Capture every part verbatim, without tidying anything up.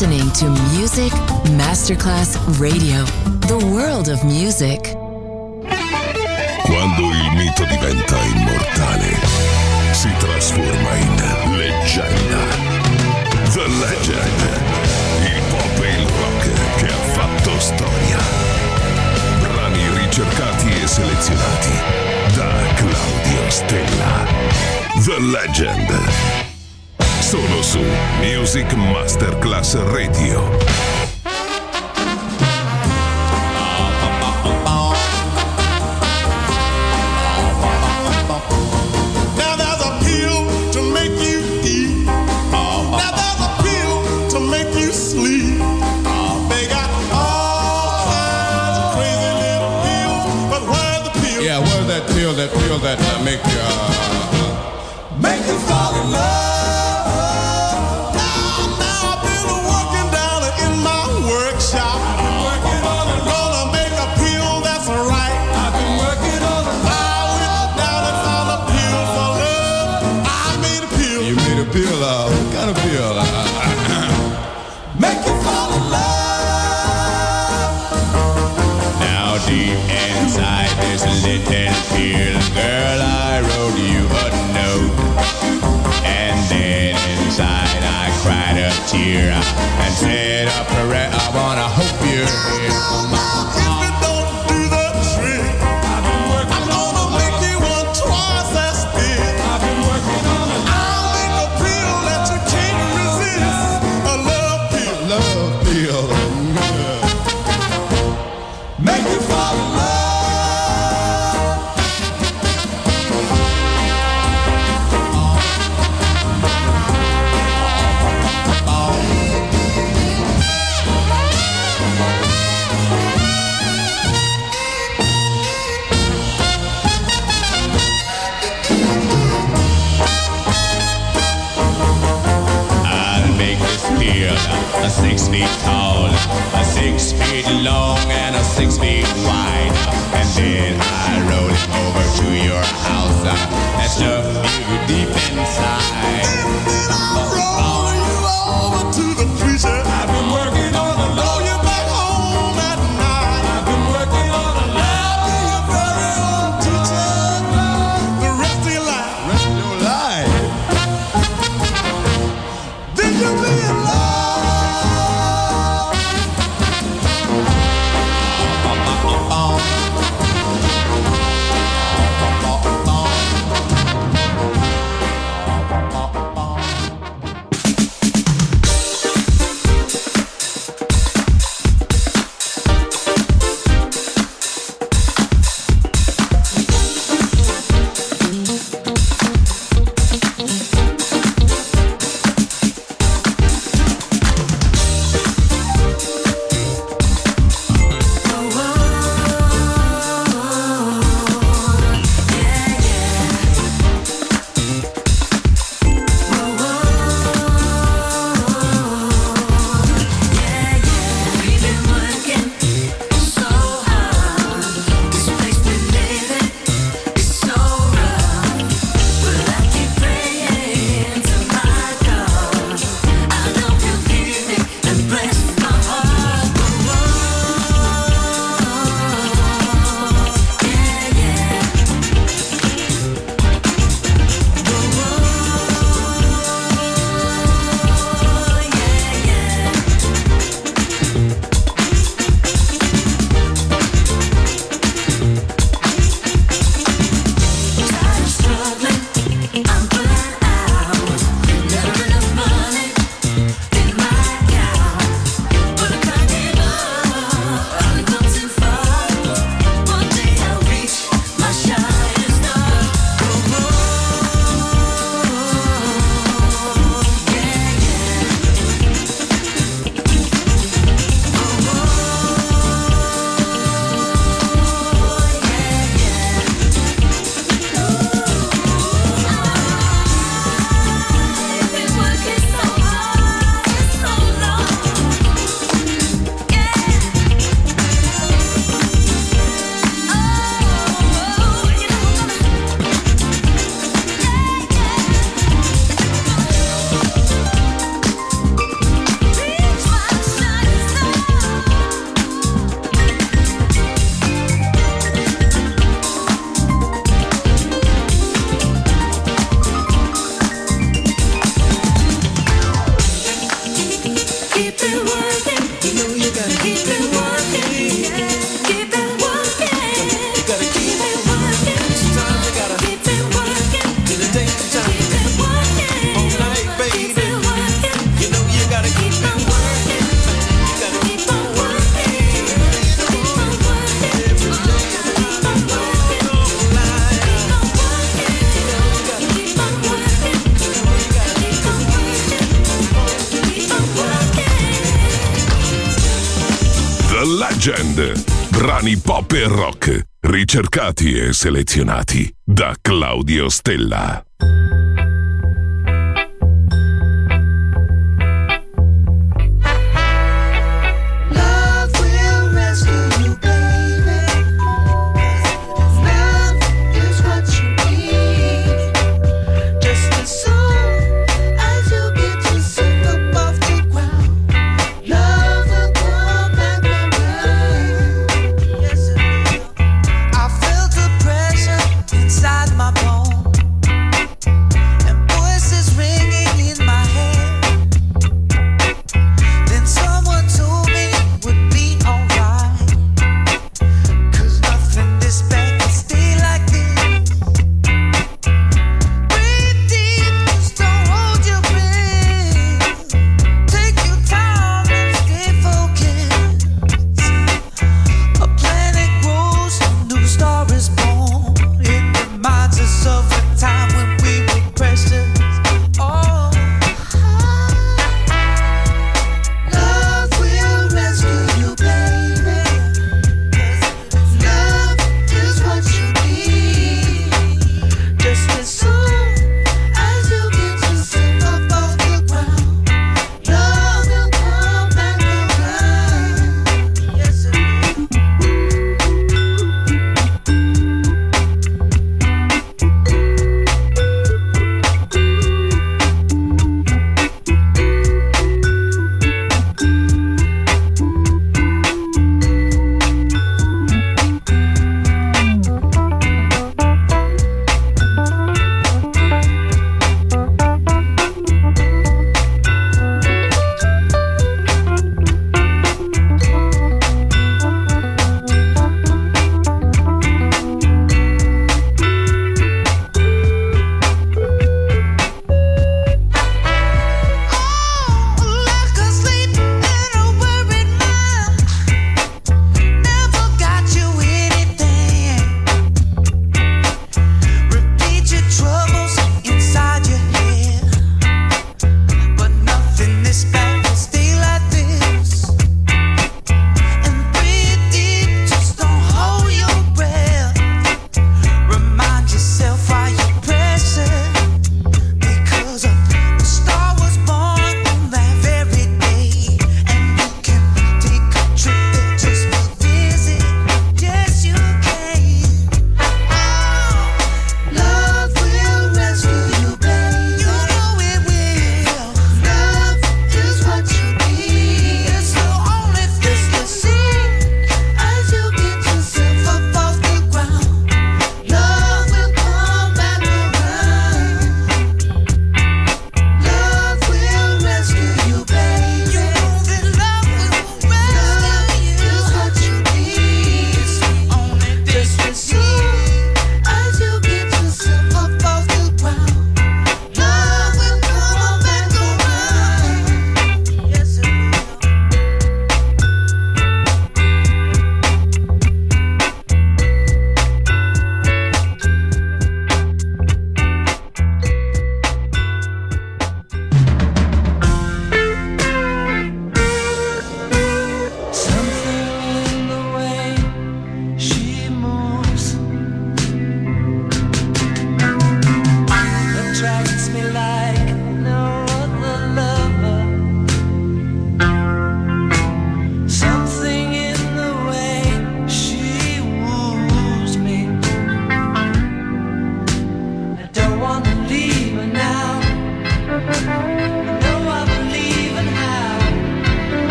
listening to Music Masterclass Radio, the world of music. Quando il mito diventa immortale, si trasforma in leggenda. The Legend, il pop e il rock che ha fatto storia. Brani ricercati e selezionati da Claudio Stella. The Legend. Solo su Music Masterclass Radio. That pill that uh, make you uh, make you fall in love. Now, now I've been working down in my workshop. I've been working on it. Gonna make a pill that's right. I've been working on it. I went down and found a pill for love. I made a pill. You made a pill? Uh, what kind of pill? Uh, make you fall in love. Now deep inside there's a little pill, girl, I wrote you a note. And then inside I cried a tear and said a prayer. I wanna hope you're here. Now, if it don't do the trick, I've been working I'm gonna on make you one twice as big. I've been working on it. I'll make a pill that you can't resist. A love pill. A love pill. Make you fall in love. A six feet tall, a six feet long, and a six feet wide. And then I roll it over to your house uh, and stuff you deep inside. And then I roll you over to the preacher. I've been working on the law. You back home at night. I've been working on the law. I'll be your very own teacher the rest of your life. Rest of your life. Did you be in love? Legend. Brani pop e rock, ricercati e selezionati da Claudio Stella. Inside my bone,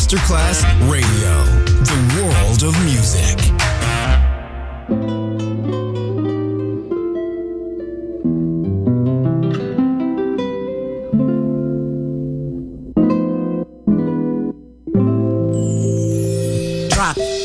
Masterclass Radio, the world of music. Drop it.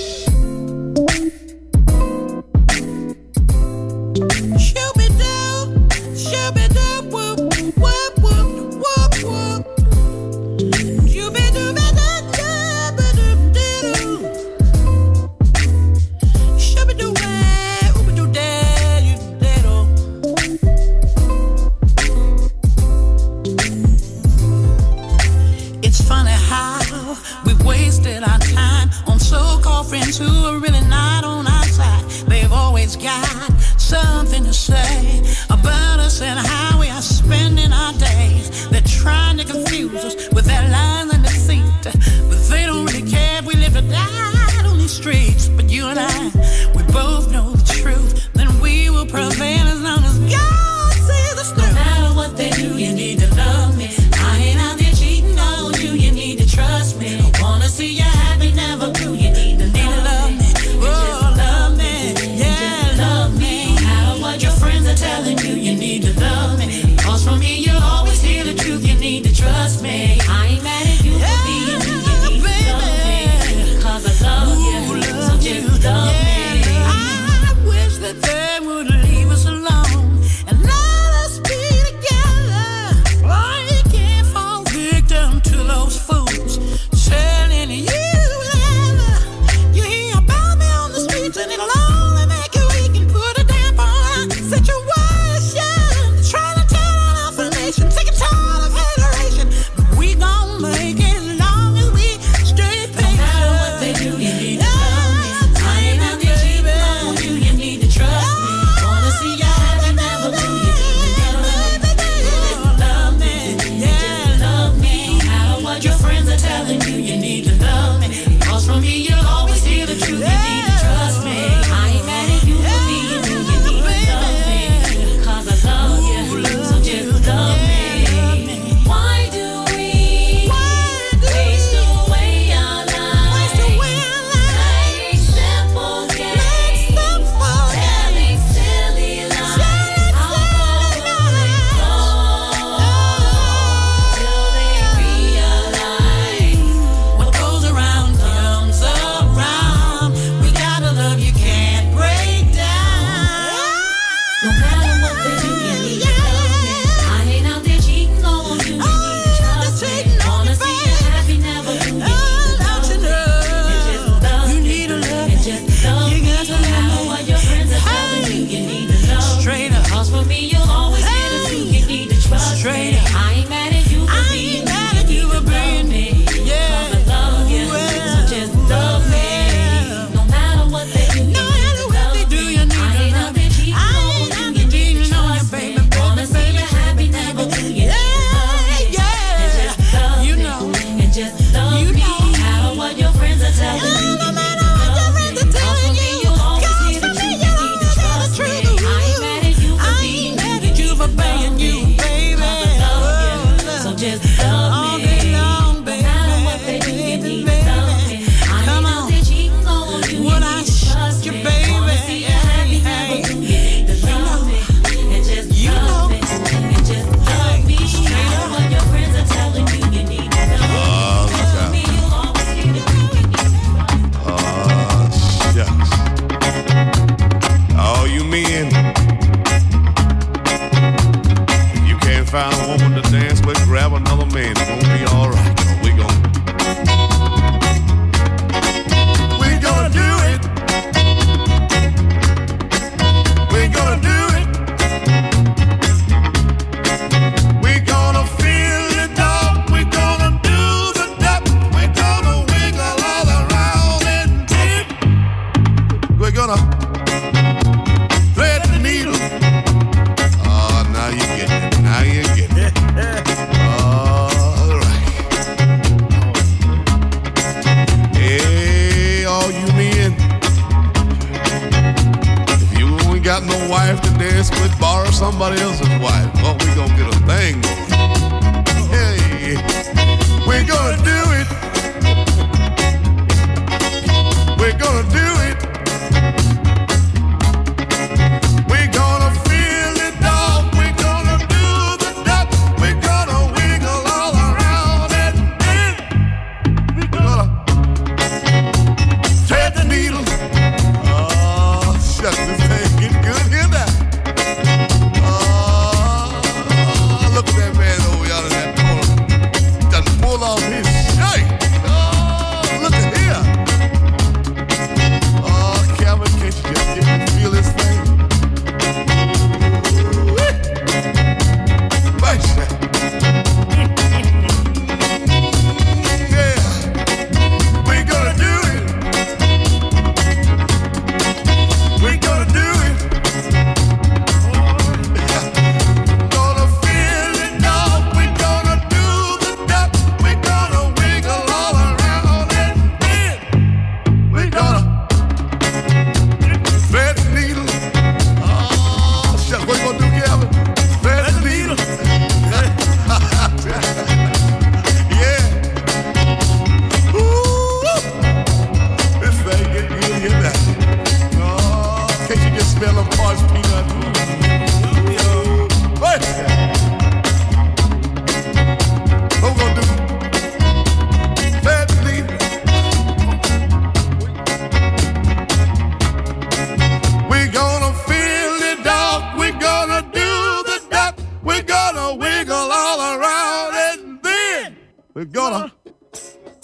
somebody else's wife. Well, we gonna get a thing going. Hey, we're gonna do it.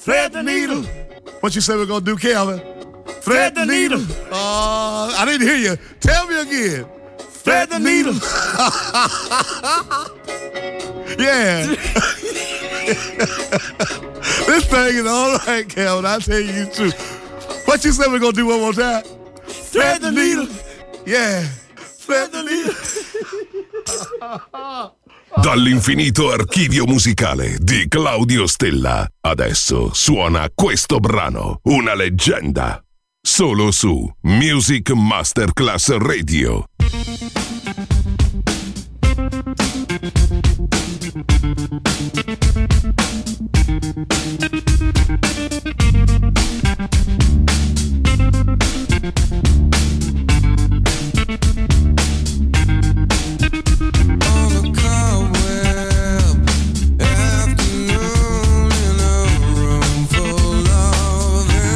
thread the needle. What you say we're gonna do, Calvin? Thread the needle. Uh, I didn't hear you. Tell me again. Thread the needle. Yeah. This thing is all right, Calvin. I tell you too. What you say we're gonna do one more time? Thread the needle. Yeah. Thread the needle. Dall'infinito archivio musicale di Claudio Stella, adesso suona questo brano, una leggenda, solo su Music Masterclass Radio.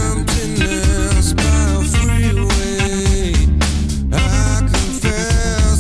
Emptiness by a freeway, I confess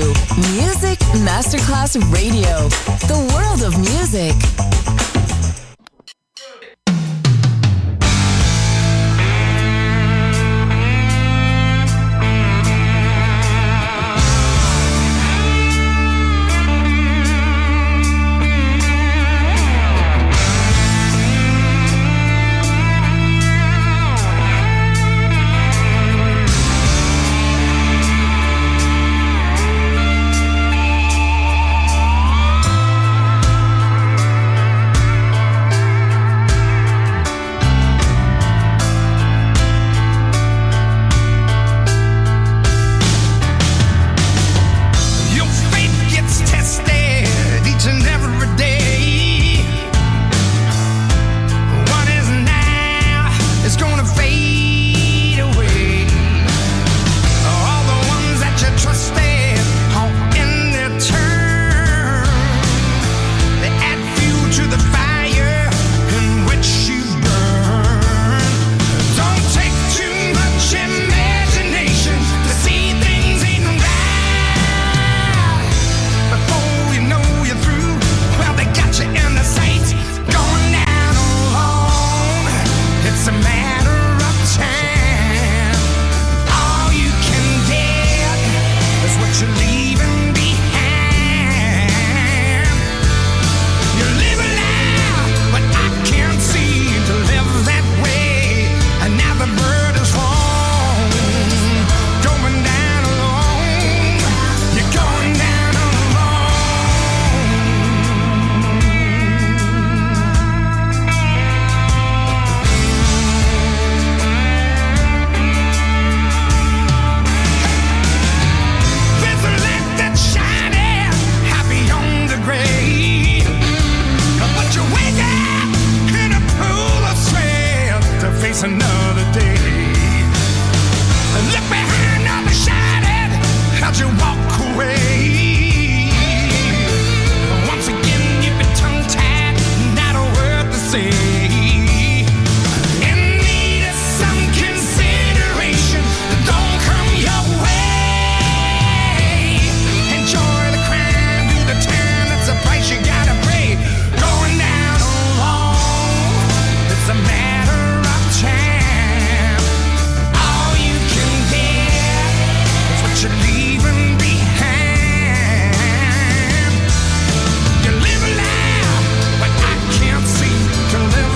to Music Masterclass Radio, the world of music. To live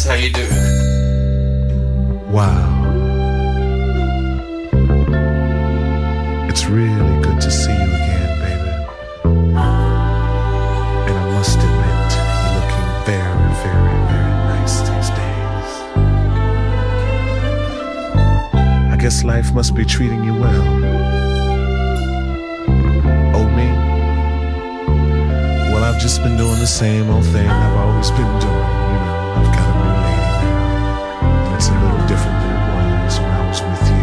how you do. Wow. It's really good to see you again, baby. And I must admit, you're looking very, very, very nice these days. I guess life must be treating you well. Oh, me? Well, I've just been doing the same old thing I've always been doing. You know, I've got a new lady now. And it's a little different than it was when I was with you.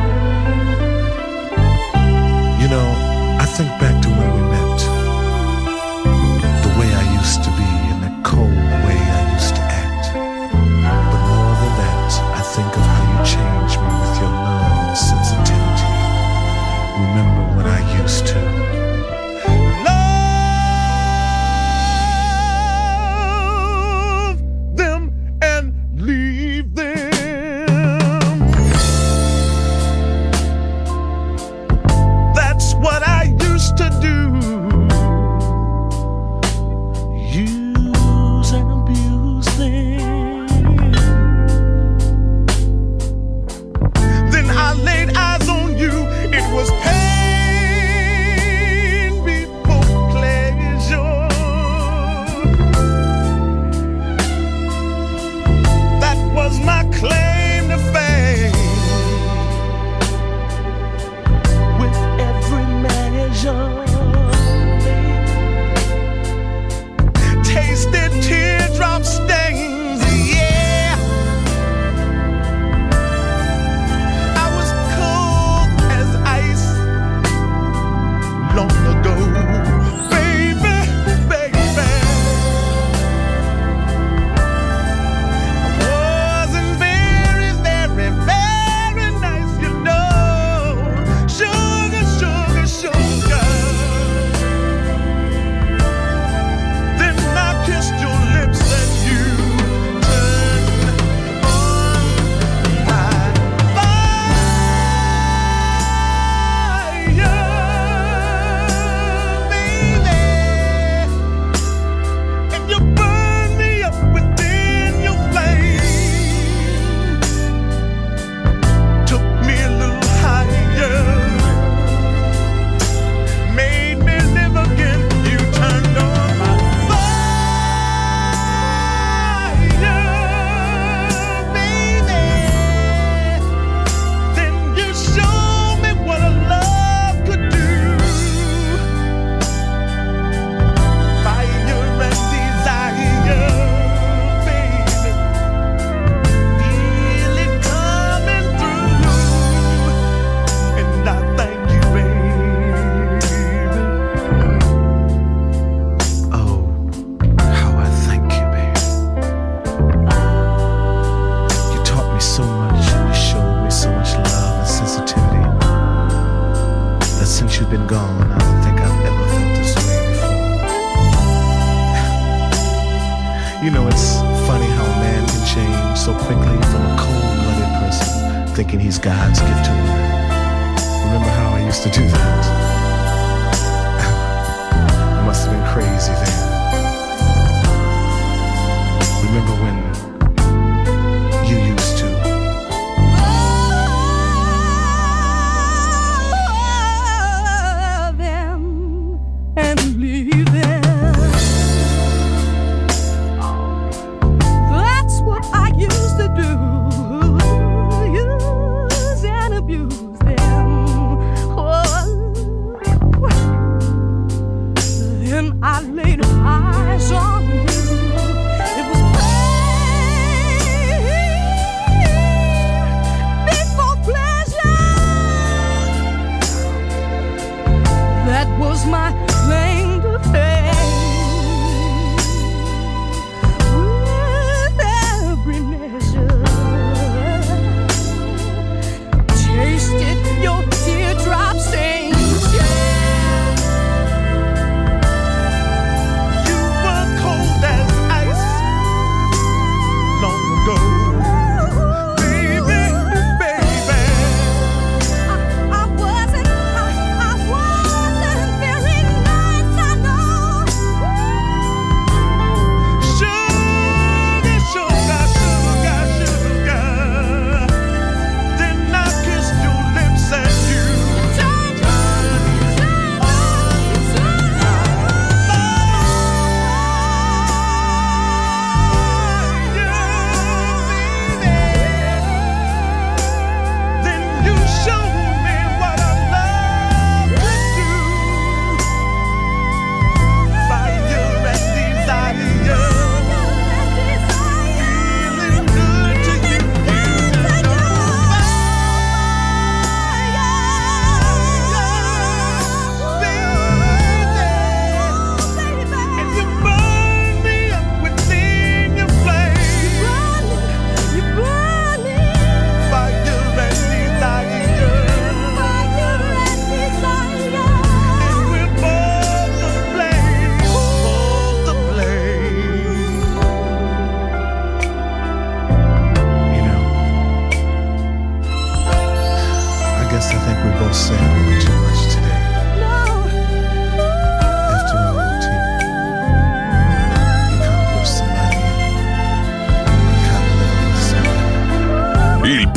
You know, I think back to when we met. The way I used to be and that cold way I used to act. But more than that, I think of how you changed me with your love and sensitivity. Remember when I used to thinking he's God's gift to women. Remember how I used to do that? I must have been crazy then. Remember when you used to love them and leave them? That's what I used to do. I laid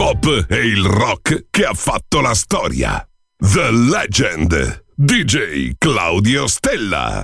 pop e il rock che ha fatto la storia. The Legend, D J Claudio Stella.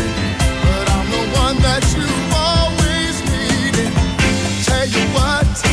What?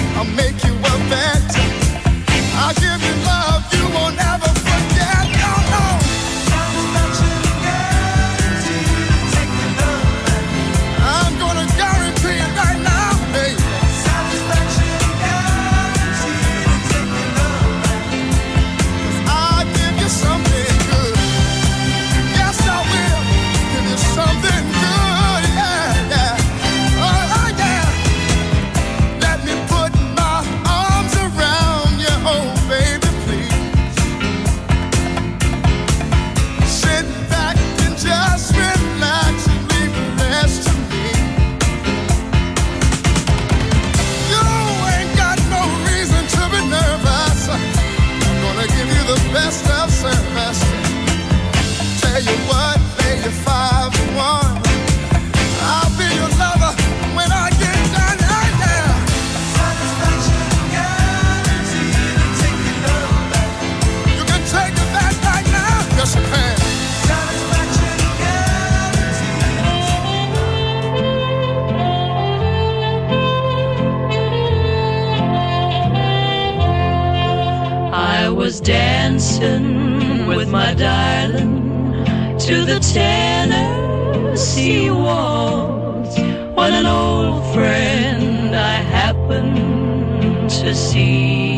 dancing with my darling to the Tennessee waltz when an old friend I happened to see.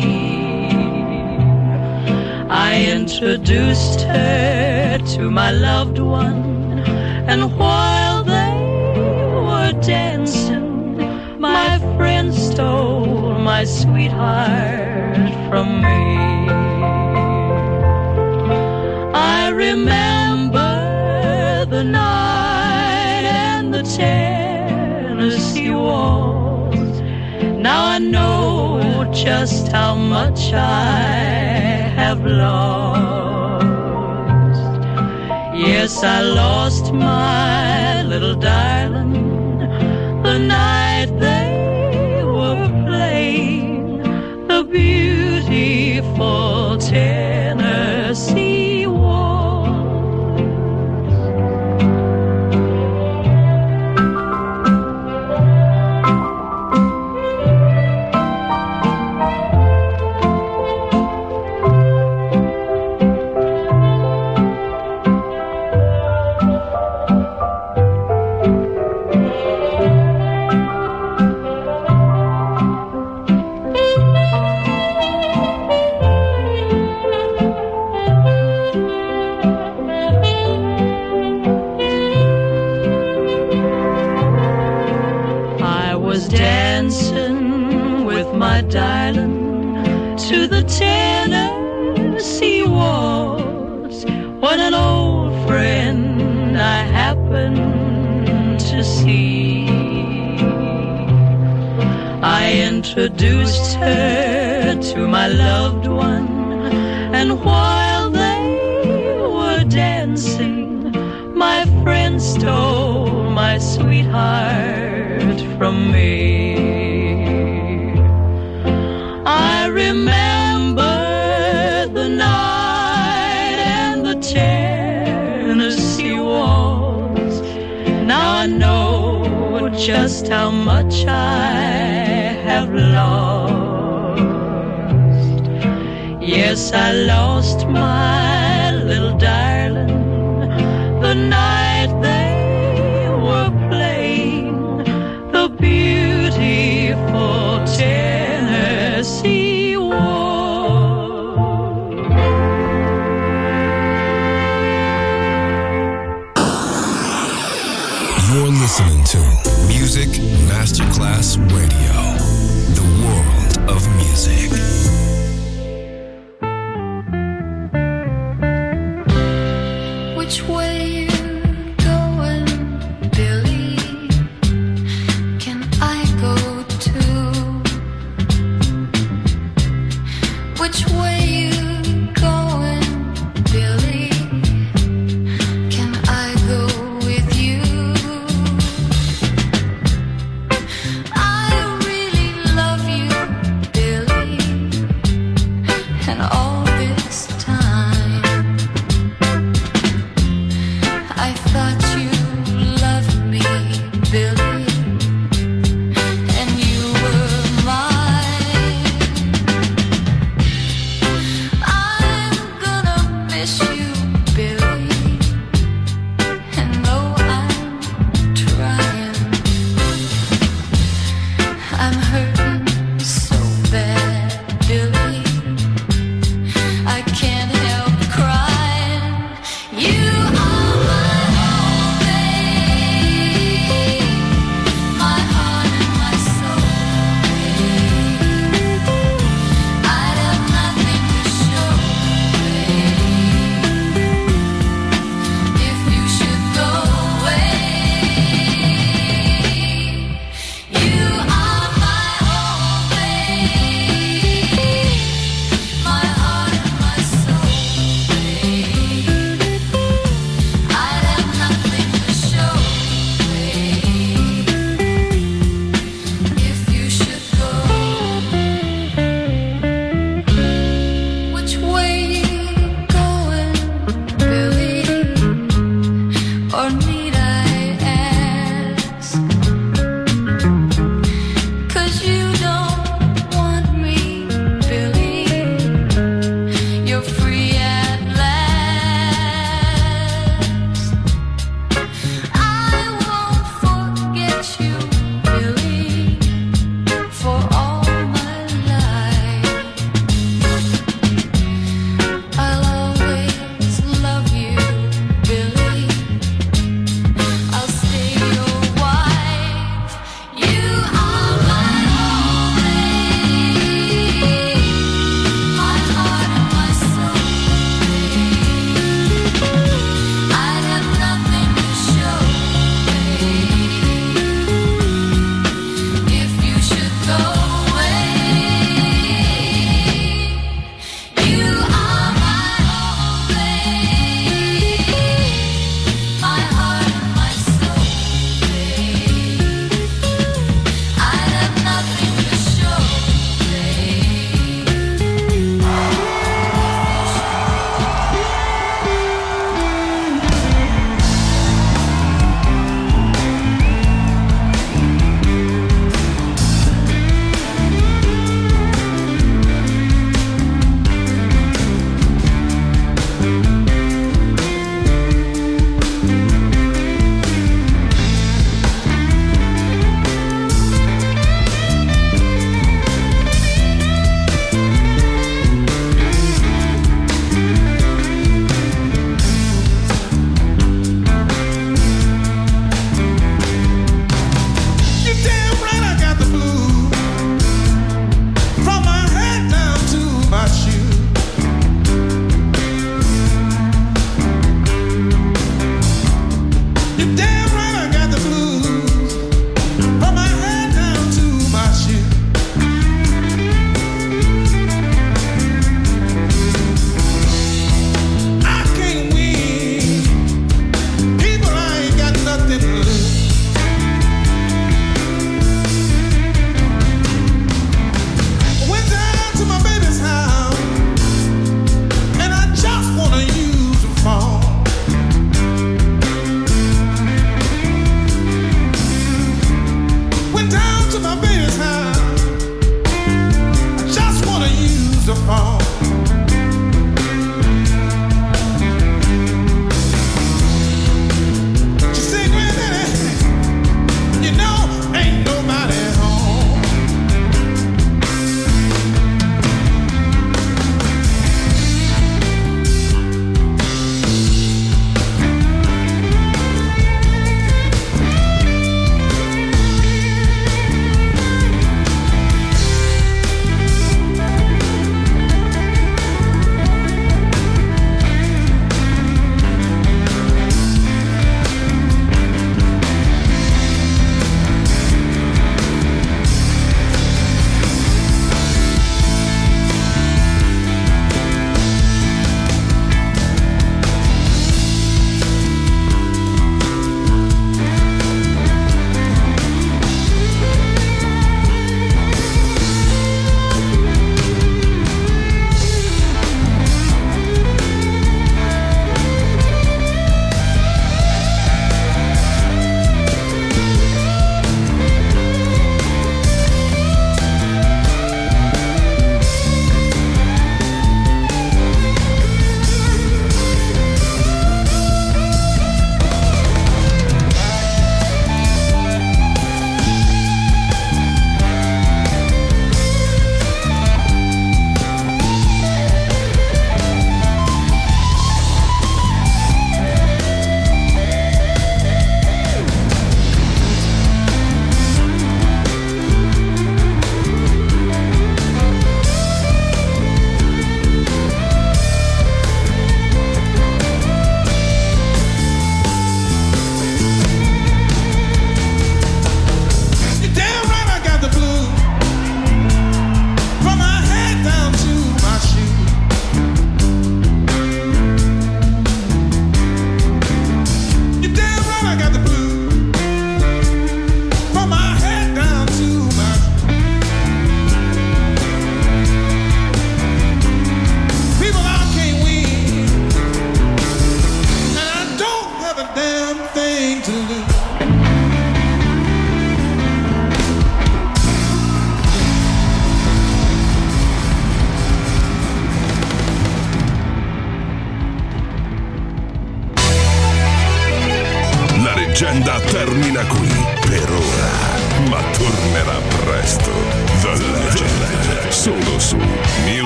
I introduced her to my loved one, and while they were dancing, my friend stole my sweetheart from me. I remember the night and the Tennessee waltz. Now I know just how much I have lost. Yes, I lost my little darling the night they were playing the beautiful Tennessee waltz. Darling, to the Tennessee waltz when an old friend I happened to see. I introduced her to my loved one, and while they were dancing, my friend stole my sweetheart from me. I remember the night and the Tennessee waltz. Now I know just how much I have lost. Yes, I lost my little darling the night they were playing the beautiful Tennessee waltz. You're listening to Music Masterclass Radio, the world of music. Which way you going, Billy? Can I go too? Which way you going, Billy? Can I go with you? I really love you, Billy.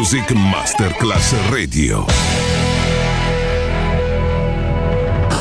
Music Masterclass Radio.